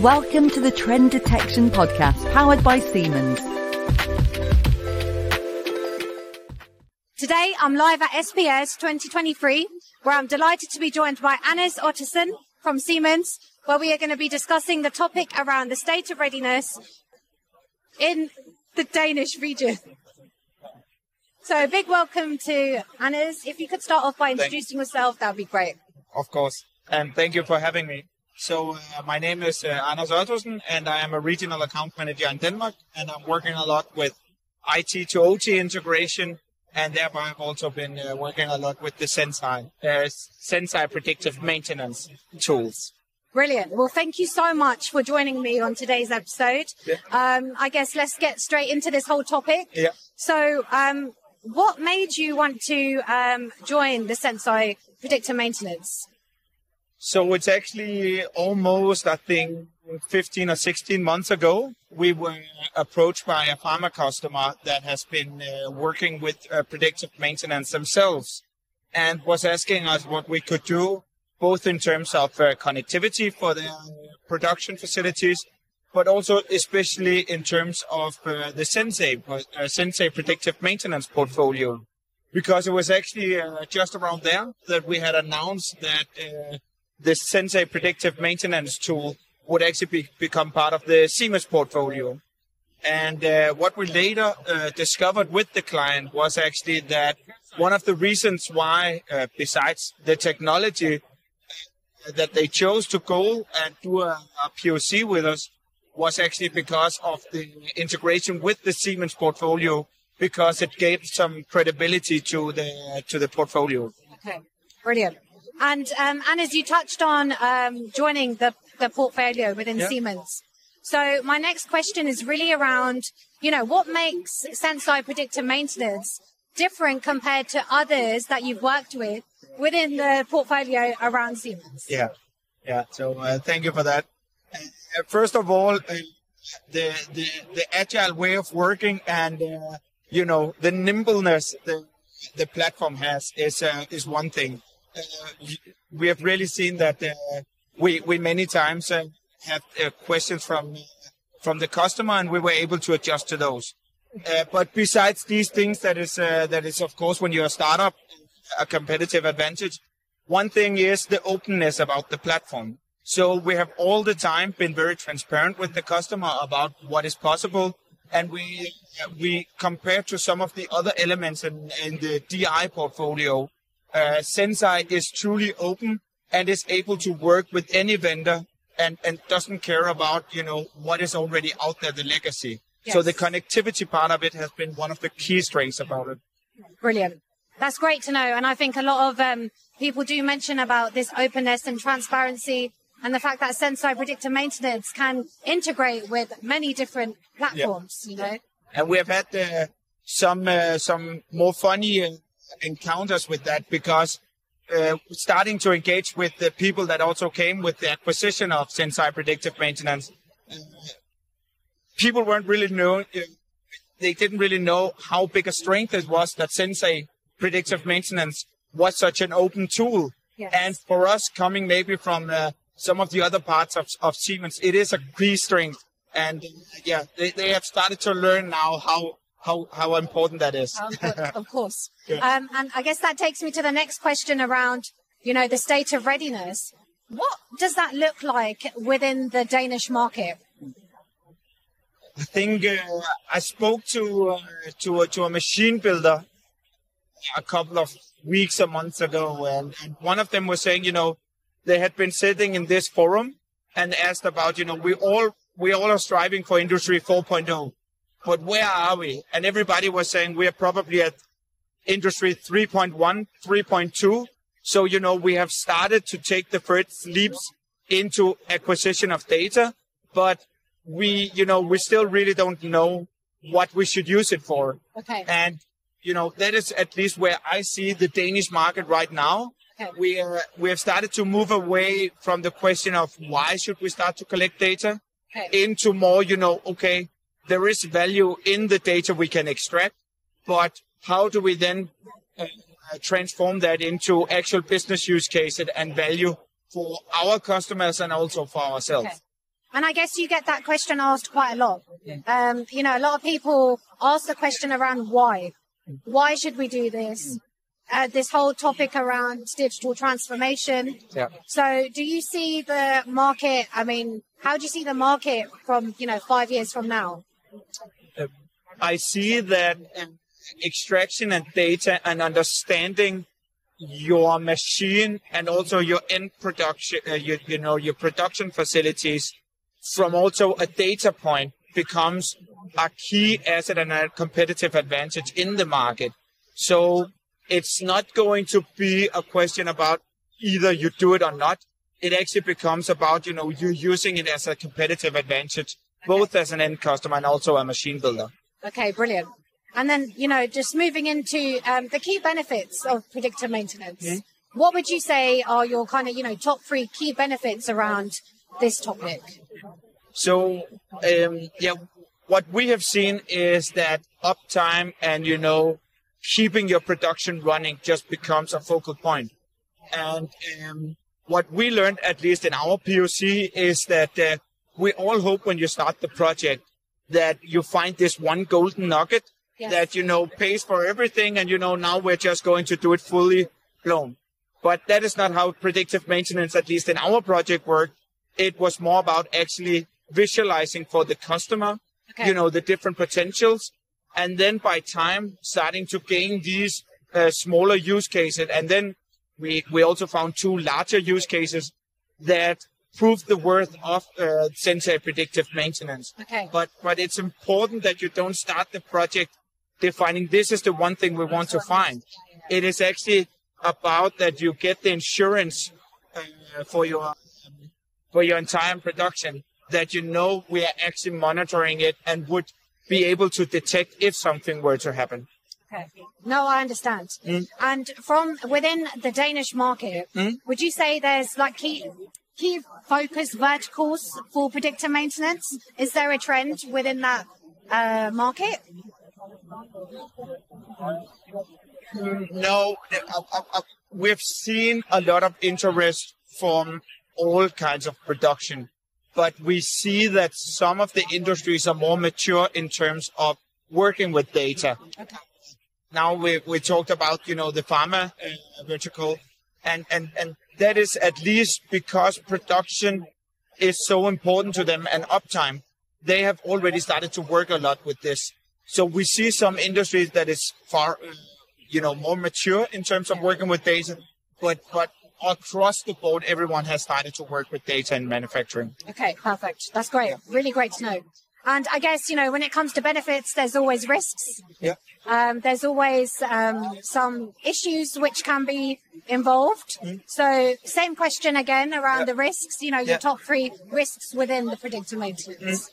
Welcome to the Trend Detection Podcast, powered by Siemens. Today, I'm live at SPS 2023, where I'm delighted to be joined by Anders Ottesen from Siemens, where we are going to be discussing the topic around the state of readiness in the Danish region. So a big welcome to Anders. If you could start off by introducing yourself, that would be great. Of course. And thank you for having me. So my name is Anders Ottesen, and I am a regional account manager in Denmark, and I'm working a lot with IT to OT integration, and thereby I've also been working a lot with the Senseye predictive maintenance tools. Brilliant. Well, thank you so much for joining me on today's episode. Yeah. I guess let's get straight into this whole topic. Yeah. So what made you want to join the Senseye predictive maintenance? So it's actually almost, I think, 15 or 16 months ago, we were approached by a pharma customer that has been working with predictive maintenance themselves and was asking us what we could do, both in terms of connectivity for their production facilities, but also especially in terms of the Senseye predictive maintenance portfolio. Because it was actually just around there that we had announced that the Senseye predictive maintenance tool would actually become part of the Siemens portfolio. And what we later discovered with the client was actually that one of the reasons why, besides the technology, that they chose to go and do a POC with us was actually because of the integration with the Siemens portfolio, because it gave some credibility to the portfolio. Okay, brilliant. And as you touched on joining the portfolio within Siemens. So my next question is really around, what makes Senseye predictive maintenance different compared to others that you've worked with within the portfolio around Siemens? Yeah. So thank you for that. First of all, the agile way of working and the nimbleness the platform has is one thing. We have really seen that we many times have questions from the customer, and we were able to adjust to those. But besides these things, that is of course, when you're a startup, a competitive advantage. One thing is the openness about the platform. So we have all the time been very transparent with the customer about what is possible, and we compare to some of the other elements in the DI portfolio. Senseye is truly open and is able to work with any vendor and doesn't care about, what is already out there, the legacy. Yes. So the connectivity part of it has been one of the key strengths about it. Brilliant. That's great to know. And I think a lot of people do mention about this openness and transparency and the fact that Senseye predictive maintenance can integrate with many different platforms, And we have had some more funny encounters with that, because starting to engage with the people that also came with the acquisition of Senseye predictive maintenance, people weren't really they didn't really know how big a strength it was that Senseye predictive maintenance was such an open tool. Yes. And for us, coming maybe from some of the other parts of Siemens, it is a key strength. And they have started to learn now how important that is. Of course. Yeah. And I guess that takes me to the next question around, the state of readiness. What does that look like within the Danish market? I think I spoke to a machine builder a couple of weeks or months ago, and one of them was saying, they had been sitting in this forum and asked about, we all are striving for Industry 4.0. But where are we? And everybody was saying we are probably at Industry 3.1, 3.2. So, we have started to take the first leaps into acquisition of data, but we still really don't know what we should use it for. Okay. And, that is at least where I see the Danish market right now. Okay. We have started to move away from the question of why should we start to collect data into more, okay, there is value in the data we can extract, but how do we then transform that into actual business use cases and value for our customers and also for ourselves? Okay. And I guess you get that question asked quite a lot. You know, a lot of people ask the question around why. Why should we do this? This whole topic around digital transformation. Yeah. So do you see the market, I mean, how do you see the market from, 5 years from now? I see that extraction and data and understanding your machine and also your end production, your production facilities from also a data point becomes a key asset and a competitive advantage in the market. So it's not going to be a question about either you do it or not. It actually becomes about, you using it as a competitive advantage, both as an end customer and also a machine builder. Okay, brilliant. And then, just moving into the key benefits of predictive maintenance. Mm-hmm. What would you say are your kind of, top 3 key benefits around this topic? So, what we have seen is that uptime and, keeping your production running just becomes a focal point. And what we learned, at least in our POC, is that we all hope when you start the project that you find this one golden nugget. Yes. That, pays for everything. And, now we're just going to do it fully blown. But that is not how predictive maintenance, at least in our project, worked. It was more about actually visualizing for the customer, the different potentials. And then by time, starting to gain these smaller use cases. And then we also found 2 larger use cases that prove the worth of Sensei predictive maintenance. Okay. But it's important that you don't start the project defining this is the one thing we want to find. It is actually about that you get the insurance for your entire production, that we are actually monitoring it and would be able to detect if something were to happen. Okay. No, I understand. And from within the Danish market, would you say there's like key focus verticals for predictive maintenance? Is there a trend within that market? No, we've seen a lot of interest from all kinds of production, but we see that some of the industries are more mature in terms of working with data. Okay. Now we talked about, the pharma vertical, and that is at least because production is so important to them and uptime. They have already started to work a lot with this. So we see some industries that is far, more mature in terms of working with data, but across the board, everyone has started to work with data in manufacturing. Okay, perfect. That's great. Really great to know. And I guess, when it comes to benefits, there's always risks. Yeah. There's always some issues which can be involved. So same question again around the risks, your top 3 risks within the predictive maintenance.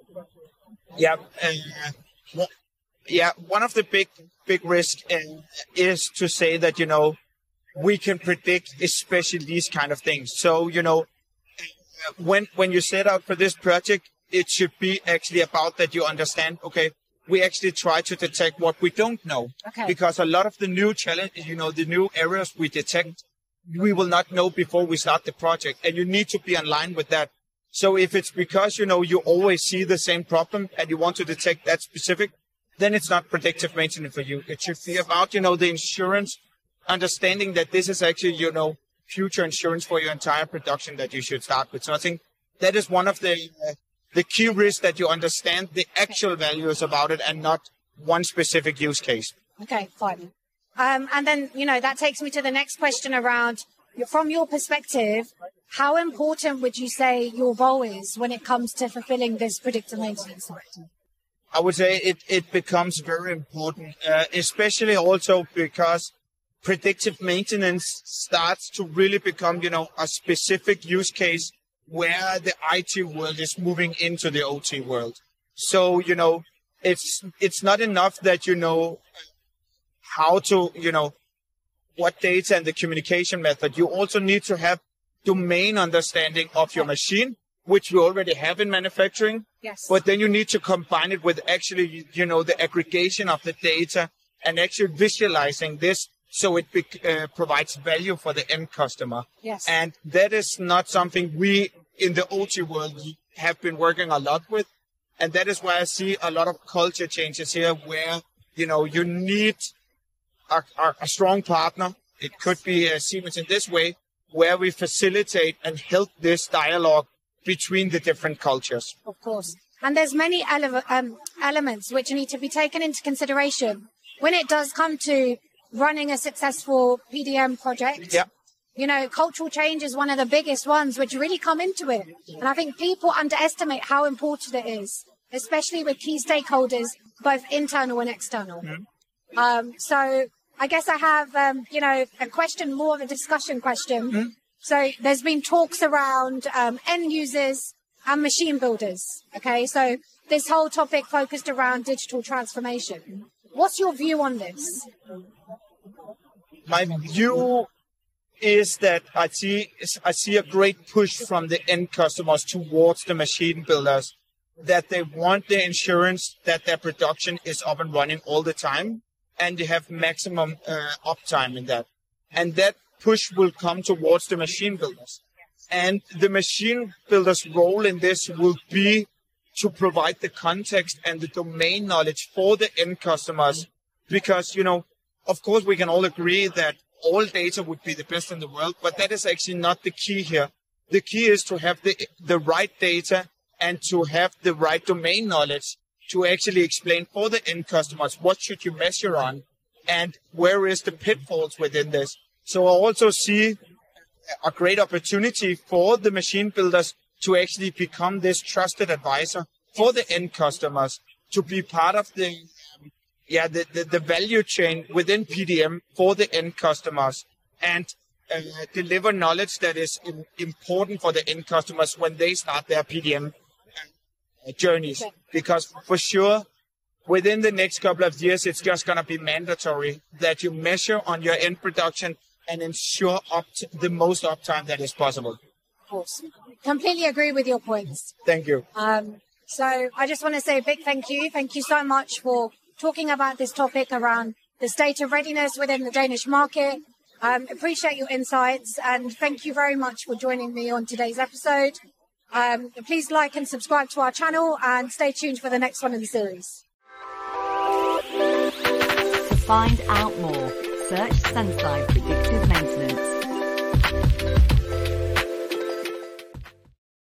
One of the big risks is to say that, we can predict especially these kind of things. So, when you set out for this project, it should be actually about that you understand, okay, we actually try to detect what we don't know. Okay. Because a lot of the new challenge, the new areas we detect, we will not know before we start the project. And you need to be in line with that. So if it's because, you always see the same problem and you want to detect that specific, then it's not predictive maintenance for you. It should be about, the insurance, understanding that this is actually, future insurance for your entire production that you should start with. So I think that is one of the key risks, that you understand the actual values about it and not one specific use case. Okay, fine. And then, that takes me to the next question around, from your perspective, how important would you say your role is when it comes to fulfilling this predictive maintenance? I would say it becomes very important, especially also because predictive maintenance starts to really become, a specific use case where the IT world is moving into the OT world. So, it's not enough that you know how to, what data and the communication method. You also need to have domain understanding of your machine, which we already have in manufacturing. Yes. But then you need to combine it with actually, the aggregation of the data and actually visualizing this so it provides value for the end customer. Yes. And that is not something we in the OT world have been working a lot with. And that is why I see a lot of culture changes here where, you need a strong partner. It could be Siemens in this way, where we facilitate and help this dialogue between the different cultures. Of course. And there's many elements which need to be taken into consideration when it does come to running a successful PDM project. Yeah. Cultural change is one of the biggest ones which really come into it. And I think people underestimate how important it is, especially with key stakeholders, both internal and external. So I guess I have, a question, more of a discussion question. So there's been talks around end users and machine builders. Okay, so this whole topic focused around digital transformation. What's your view on this? My view is that I see a great push from the end customers towards the machine builders, that they want the insurance that their production is up and running all the time, and they have maximum uptime in that. And that push will come towards the machine builders. And the machine builders' role in this will be to provide the context and the domain knowledge for the end customers. Because, of course, we can all agree that all data would be the best in the world, but that is actually not the key here. The key is to have the right data and to have the right domain knowledge to actually explain for the end customers what should you measure on and where is the pitfalls within this. So I also see a great opportunity for the machine builders to actually become this trusted advisor for the end customers, to be part of the value chain within PDM for the end customers, and deliver knowledge that is important for the end customers when they start their PDM journeys. Because for sure, within the next couple of years, it's just going to be mandatory that you measure on your end production and ensure the most uptime that is possible. Of course. Completely agree with your points. Thank you. So I just want to say a big thank you. Thank you so much for talking about this topic around the state of readiness within the Danish market. Appreciate your insights, and thank you very much for joining me on today's episode. Please like and subscribe to our channel and stay tuned for the next one in the series. To find out more, search Senseye Predictive Maintenance.